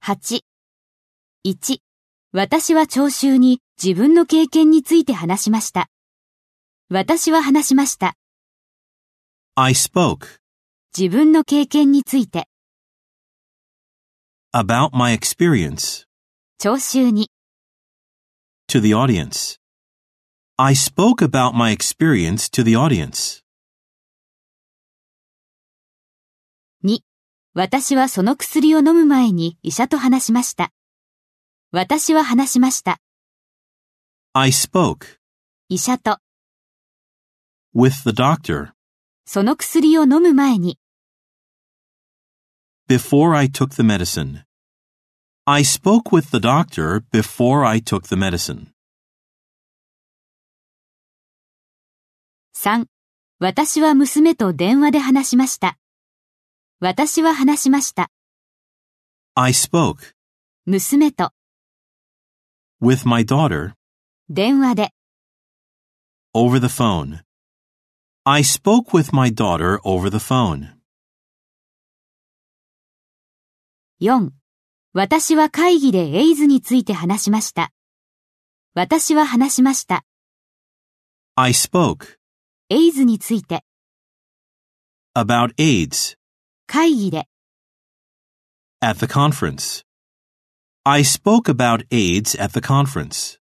8、1、私は聴衆に自分の経験について話しました。私は話しました。 I spoke 自分の経験について。 about my experience 聴衆に。 to the audience. I spoke about my experience to the audience. 2、私はその薬を飲む前に医者と話しました。私は話しました。 I spoke 医者と。 with the doctor その薬を飲む前に。 before I took the medicine. I spoke with the doctor before I took the medicine. 3、私は娘と電話で話しました。私は話しました。 I spoke 娘と。 with my daughter 電話で。 over the phone. I spoke with my daughter over the phone. 4、私は会議でエイズについて話しました。私は話しました。 I spoke エイズについて。 about AIDS 会議で。 at the conference. I spoke about AIDS at the conference.